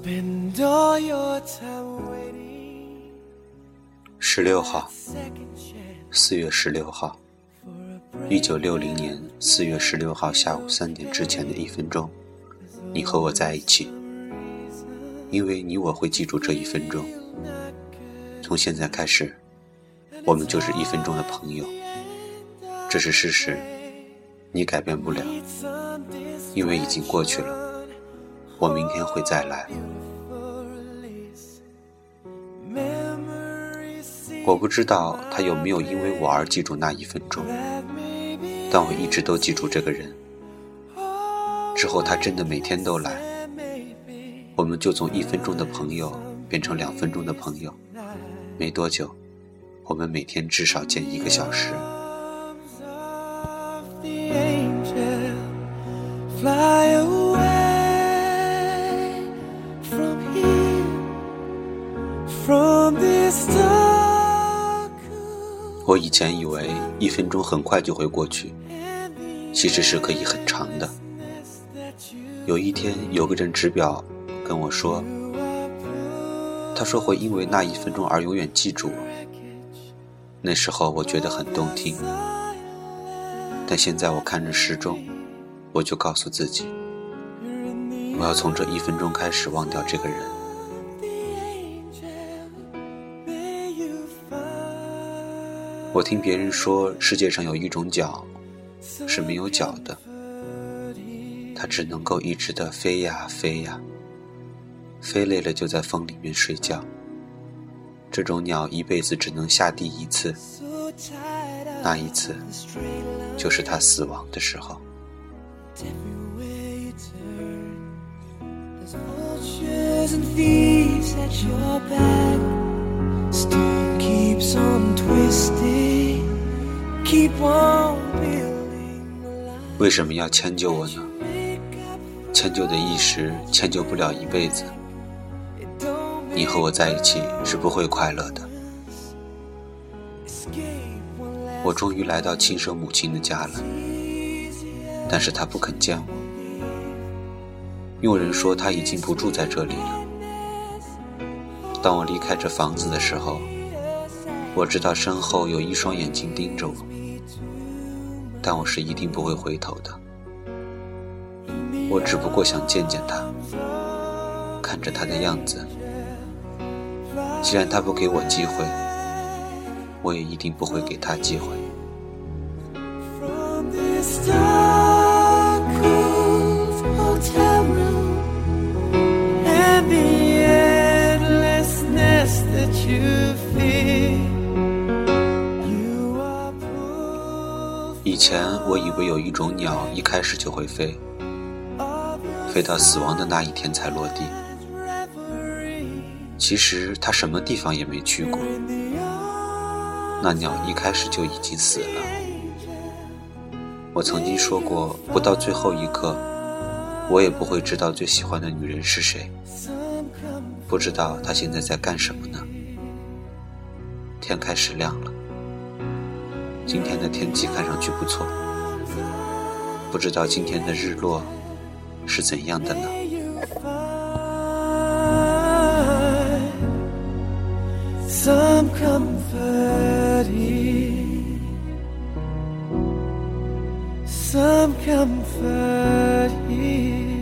16号，4月16号，1960年4月16号下午3点之前的1分钟，你和我在一起，因为你我会记住这1分钟。从现在开始，我们就是1分钟的朋友，这是事实，你改变不了，因为已经过去了，我明天会再来。我不知道他有没有因为我而记住那1分钟，但我一直都记住这个人。之后他真的每天都来，我们就从1分钟的朋友变成2分钟的朋友，没多久，我们每天至少见1个小时。我以前以为1分钟很快就会过去，其实是可以很长的。有一天有个人指表跟我说，他说会因为那1分钟而永远记住我。那时候我觉得很动听，但现在我看着时钟，我就告诉自己，我要从这1分钟开始忘掉这个人。我听别人说，世界上有一种脚是没有脚的，它只能够一直的飞呀飞呀，飞累了就在风里面睡觉。这种鸟一辈子只能下地1次，那一次就是它死亡的时候。为什么要迁就我呢？迁就的一时，迁就不了一辈子。你和我在一起是不会快乐的。我终于来到亲生母亲的家了，但是她不肯见我。佣人说她已经不住在这里了。当我离开这房子的时候，我知道身后有1双眼睛盯着我，但我是一定不会回头的。我只不过想见见他，看着他的样子。既然他不给我机会，我也一定不会给他机会。以前我以为有一种鸟一开始就会飞，飞到死亡的那一天才落地。其实它什么地方也没去过，那鸟一开始就已经死了。我曾经说过，不到最后一刻，我也不会知道最喜欢的女人是谁，不知道她现在在干什么呢。天开始亮了，今天的天气看上去不错，不知道今天的日落是怎样的呢？Some comfort here, some comfort here.